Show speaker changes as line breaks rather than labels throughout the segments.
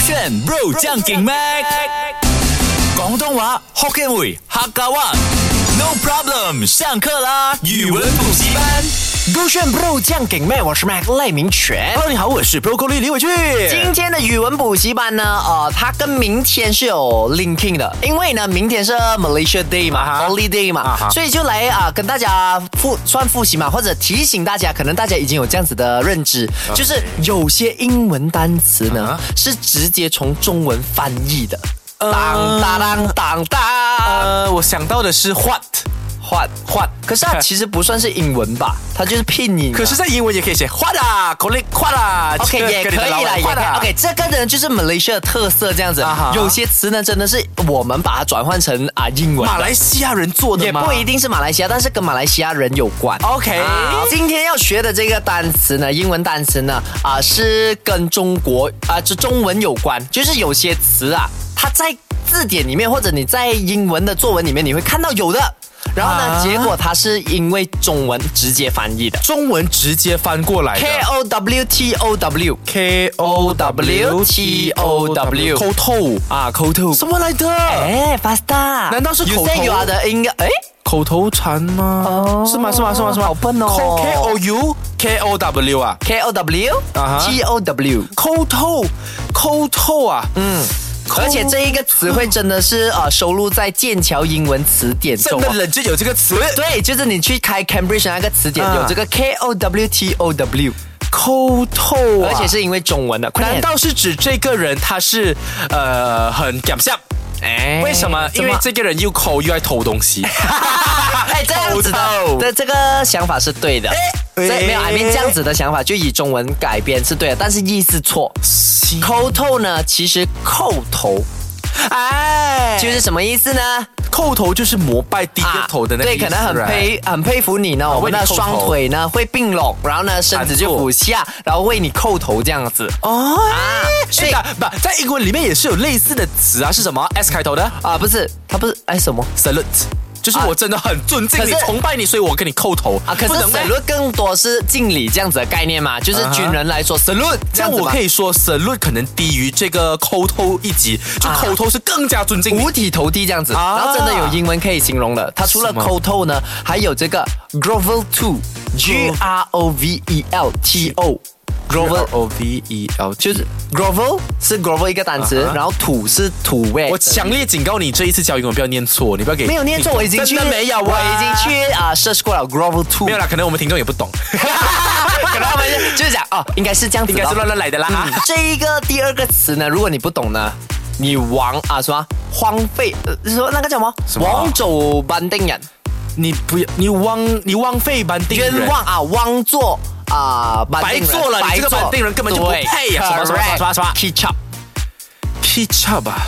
炫 Bro 將勁 Mac 廣東話福建會客家話 No problem 上課啦語文補習班
勾炫 Bro 酱给妹，我是 Mac 赖明全。
Hello 你好，我是 Broccoli 李伟俊。
今天的语文补习班呢，它跟明天是有 linking 的，因为呢，明天是 Malaysia Day 嘛、Holiday 嘛，所以就来跟大家复习嘛，或者提醒大家，可能大家已经有这样子的认知，就是有些英文单词呢是直接从中文翻译的。当当当当，
我想到的是 what，
可是它其实不算是英文吧，它就是拼音。
可是在英文也可以写 what 啊 ，collect what 啊
，OK 也可以啦，也可以。OK 这个呢就是 Malaysia 的特色这样子，有些词呢真的是我们把它转换成英文。
马来西亚人做的吗？
也不一定是马来西亚，但是跟马来西亚人有关。
OK，
今天要学的这个单词呢，英文单词呢是跟中国这中文有关，就是有些词啊，它在字典里面或者你在英文的作文里面你会看到有的。然后呢？结果它是因为中文直接翻译的，
中文直接翻过来的。
KOWTOW，
抠透
啊，抠透，
什么来的？
faster，
难道是口头
？You say you are the
口头禅吗？是吗？
好笨哦。
KOW 啊
，KOWTOW，
抠透啊，
而且这一个词汇真的是收录在剑桥英文词典中，
真的冷就有这个词。
对，就是你去开 Cambridge 那个词典有这个 KOWTOW，
抠透啊，
而且是因为中文的。
难道是指这个人他是很搞笑？为什么？因为这个人又抠又爱偷东西。
这样子的这个想法是对的。没有，这样子的想法就以中文改编是对的，但是意思错。抠透呢，其实叩头，就是什么意思呢？
叩头就是膜拜低个头的那个意思。
对，可能很佩服你呢，我们的双腿呢会并拢，然后呢身子就俯下，然后为你叩头这样子。
所以在英文里面也是有类似的词啊，是什么 S 开头的？
不是，它不是什么
salute。就是我真的很尊敬你、崇拜你，所以我跟你叩头
可是 salute 更多是敬礼这样子的概念嘛，就是军人来说 salute
这样我可以说 salute 可能低于这个叩头一级，就叩头是更加尊敬你，
五体投地这样子。然后真的有英文可以形容了，它除了叩头呢，还有这个 grovel to，grovel 就是 grovel 是 grovel 一个单词，然后土是土味。
我强烈警告你，这一次教英文不要念错，你不要给
没有念错，我已经去
真的没有，
我已经去search 过了 grovel to。
没有啦，可能我们听众也不懂，
可能他们就是讲应该是这样子，
应该是乱来的啦。
这一个第二个词呢，如果你不懂呢，你什么荒废，说那个叫什么枉做班定人，
你不要你枉费班定人，
冤枉枉做。
白做了，你这个班定人根本就不配呀！什么 ketchup 啊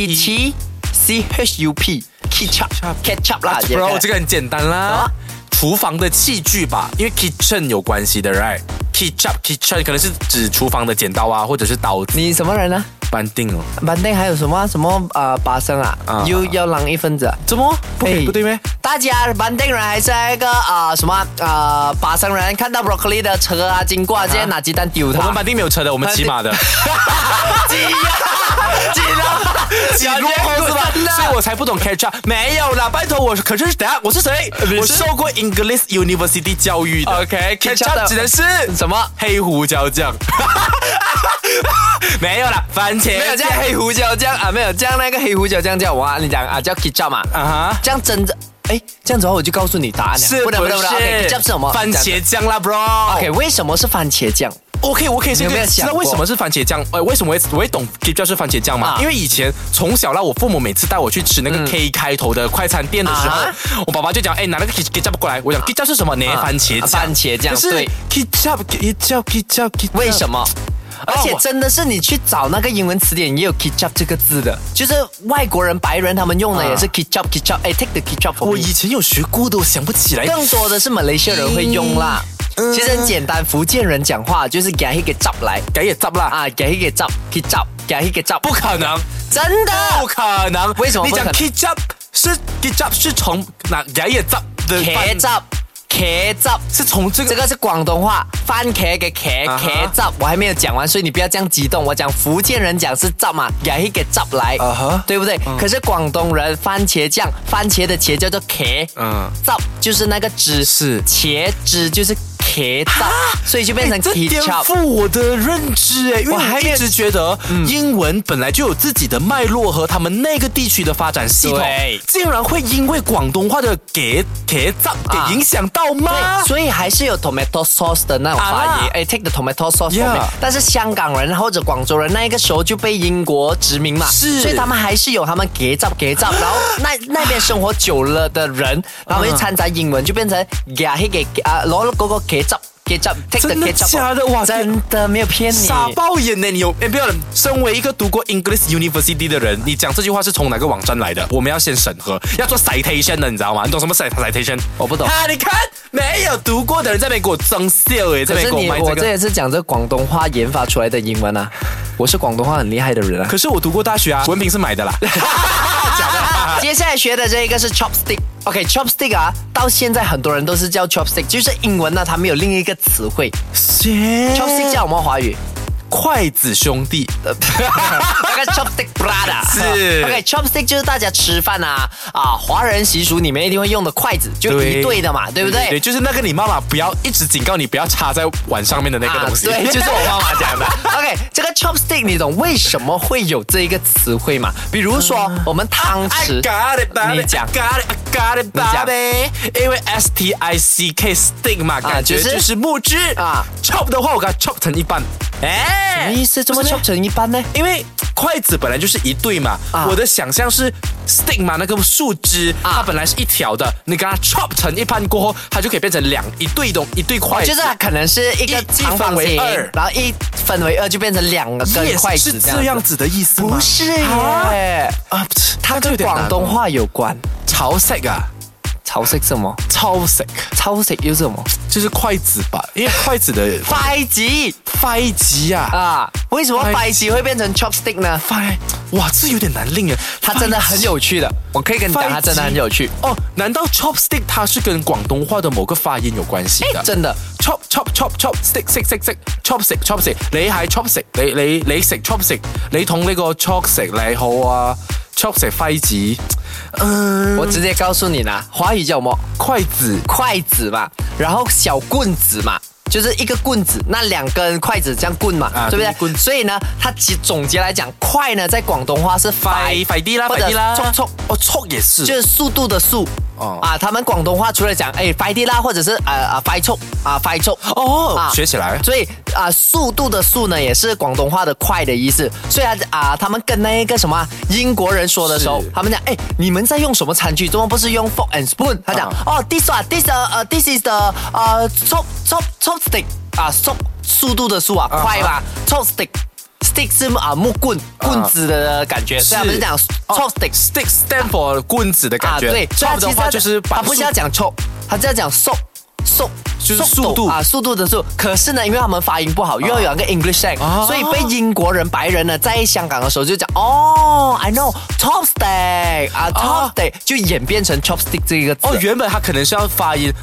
，ketchup ketchup 啦
，bro 这个很简单啦，厨房的器具吧，因为 kitchen 有关系的 ，right？ketchup 可能是指厨房的剪刀啊，或者是刀子。
你什么人呢？
班定
班定还有什么巴生又要让一分子？
怎么不对咩？
大家班定人还是那个巴生人看到 broccoli 的车经过，直接拿鸡蛋丢他。
我们班定没有车的，我们骑马的。挤落后是吧？所以我才不懂 ketchup。没有啦，拜托我，可是等下我是谁？我受过 English University 教育的。OK，ketchup 指的是
什么？
黑胡椒酱。没有啦，番茄
没有叫黑胡椒酱没有叫那个黑胡椒酱叫我你讲叫 ketchup 嘛这样真的这样子的话我就告诉你答案了，
是不是
？ketchup 是什么？
番茄酱啦 ，bro。
OK， 为什么是番茄酱
？OK， 我可以先知道为什么是番茄酱。为什么我会懂 ketchup 是番茄酱嘛？因为以前从小我父母每次带我去吃那个 K 开头的快餐店的时候，我爸爸就讲，拿那个 ketchup 过来。我讲 ketchup 是什么呢？番茄酱。
番茄酱。对
，ketchup，
为什么？而且真的是你去找那个英文词典也有 ketchup 这个字的，就是外国人白人他们用的也是 ketchup。take the ketchup for me。
我以前有学过的，我想不起来。
更多的是马来西亚人会用啦。其实很简单，福建人讲话就是给一个 zap 来，
给一个 zap 啦
给一个 ketchup， 给一个 zap，
不可能，
真的
不可能。
为什么不可能？
你讲 ketchup 是从哪给一个 zap 的
茄汁
是从这个
这个是广东话，番茄嘅茄汁，我还没有讲完，所以你不要这样激动。我讲福建人讲是汁嘛，也是给汁来，对不对？可是广东人番茄酱，番茄的茄叫做茄，汁就是那个汁，
是
茄汁就是茄汁，所以就变成
这颠
ketchup。
覆我的认知因为我一直觉得英文本来就有自己的脉络和他们那个地区的发展系统，竟然会因为广东话的茄汁给影响到吗？
对，所以还是有 tomato sauce 的那种发音，take the tomato sauce from it。但是香港人或者广州人那个时候就被英国殖民嘛，
是，
所以他们还是有他们茄汁，然后那边生活久了的人，他们就掺杂英文就变成攞嗰個茄汁。
真的假的？哇，
真的没有骗你，
傻爆眼呢！你有不要？身为一个读过 English University 的人，你讲这句话是从哪个网站来的？我们要先审核，要做 citation 的，你知道吗？你懂什么 citation？
我不懂。
你看没有读过的人在那边给我装笑这边给我卖
我这也是讲这广东话研发出来的英文啊，我是广东话很厉害的人啊。
可是我读过大学啊，文凭是买的啦。假的。
接下来学的这个是 chopstick。OK，chopstick 到现在很多人都是叫 chopstick， 就是英文呢，他们有另一个词汇。chopstick 叫什么华语？
筷子兄弟，
那个 chopstick brother
是
OK，chopstick 就是大家吃饭华人习俗里面一定会用的筷子，就一对的嘛，对不对？
对，就是那个你妈妈不要一直警告你不要插在碗上面的那个东西。
对，就是我妈妈讲的。OK， 这个 chopstick 你懂为什么会有这一个词汇吗？比如说我们汤匙，你讲。
因为 stick stick 嘛，感觉就是木质chop 的话，我给它 chop 成一半。
什么意思？怎么 chop 成一半呢？
因为筷子本来就是一对嘛，我的想象是 stick 嘛，那个树枝它本来是一条的，你给它 chop 成一半过后，它就可以变成一对筷子，
就是它可能是一个长方形，然后一分为二就变成2个根筷子，
是这样子的意思吗？
不是耶，它跟广东话有关。
潮色啊。
潮色什么？
潮色
又是什么？
就是筷子吧，因为筷子的
筷子为什么筷子会变成 chopstick 呢？
哇，这有点难令啊！
它真的很有趣的，我可以跟你讲，它真的很有趣
哦。难道 chopstick 它是跟广东话的某个发音有关系的？
真的
chop stick chopstick 你係 chopstick 你食 chopstick 你同呢個 chopstick 你好啊 chopstick 筷子。
我直接告诉你啦，华语叫什么？筷子嘛，然后小棍子嘛，就是一个棍子，那2根筷子这样棍嘛，对不对？所以呢，它总结来讲，快呢在广东话是快啲啦，或者
速也是，
就是速度的速。他们广东话除了讲快啲啦，或者是快速
学起来。
所以速度的速呢，也是广东话的快的意思。所以他们跟那个什么英国人说的时候，他们讲你们在用什么餐具？怎么不是用 fork and spoon？ 他讲this is the chopstick 速度的速快吧 chopstick。Stick 是木棍子的感觉，所以他们是讲 chopstick
stick stand for 棍子的感觉。
对，
chop 的话就是
他不是要讲 chop， 他是要讲 soap
就是速度
速度的速。可是呢，因为他们发音不好，又要有一个 English slang，所以被英国人白人呢在香港的时候就讲I know chopstick chopstick 就演变成 chopstick 这个字。
原本他可能是要发音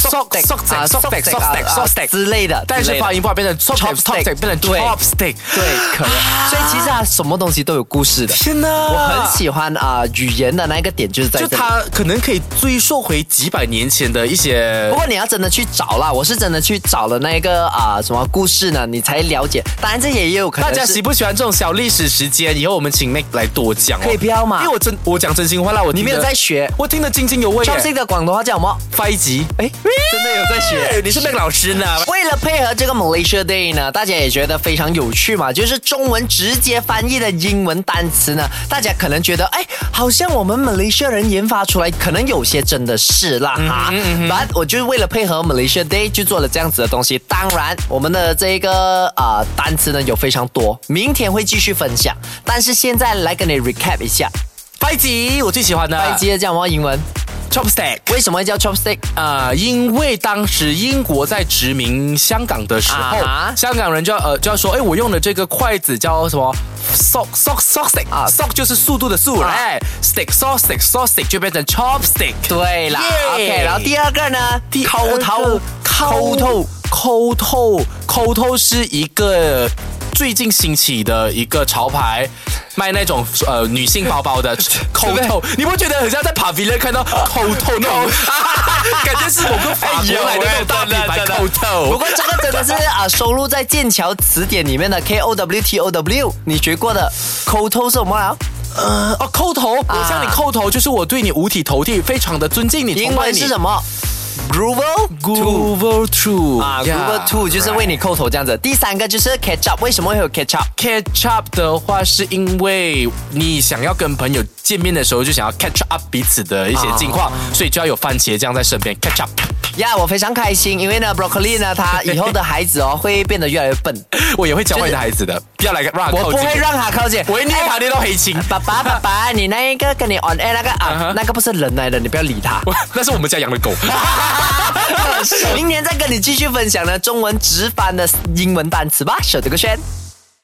sock
之类的，
但是发音不好变成 chopstick 变成 chopstick。
对，可能。所以其实什么东西都有故事的。
天哪，
我很喜欢语言的那个点就是在这里，
就它可能可以追溯回几百年前的一些。
不过你要真的去找啦，我是真的去找了那个什么故事呢，你才了解。当然这也有可能
大家喜不喜欢这种小历史时间？以后我们请 Mac 来多讲
可以不要吗？
因为我讲真心话啦，
你没有在学，
我听得津津有味。
chopstick 的广东话叫什么？
筷子。
真的有在学，
你是 Mac 老师呢。
为了配合这个 Malaysia Day 呢，大家也觉得非常有趣嘛，就是中文直接翻译的英文单词呢，大家可能觉得好像我们 Malaysia 人研发出来，可能有些真的是啦But 我就是为了配合 Malaysia Day 就做了这样子的东西。当然我们的这个单词呢有非常多，明天会继续分享，但是现在来跟你 recap 一下。
筷子我最喜欢的，
筷子叫什么英文
？chopstick。
为什么会叫 chopstick？
因为当时英国在殖民香港的时候，香港人就要说，我用的这个筷子叫什么 stick 啊 ，sock 就是速度的速，哎 ，stick saw stick 就变成 chopstick。
对啦 ，OK， 然后第二个呢，
抠头是一个最近兴起的一个潮牌，卖那种女性包包的抠头，你不觉得很像在 Pavilion 看到抠头那种？感觉是某个法国来的那种大品牌抠头。
不过这个真的是收录在剑桥词典里面的 KOWTOW， 你学过的抠头是什么啊？
抠头，我向你抠头，就是我对你五体投地，非常的尊敬你。
英文是什么
？Groove two
Groove two 就是为你抠头这样子。第三个就是 catch up， 为什么会有 catch
up？Catch up 的话，是因为你想要跟朋友见面的时候，就想要 catch up 彼此的一些近况，所以就要有番茄酱在身边 catch up。
我非常开心，因为呢 ，Broccoli 呢，他以后的孩子会变得越来越笨。
我也会教坏你的孩子的，不要来让他靠近。
我不会让他靠近，
我会捏他捏到黑青。
爸爸，你那一个跟你 on air 那个那个不是人来的，你不要理他。
那是我们家养的狗。
明天再跟你继续分享呢中文直翻的英文单词吧，手这个圈。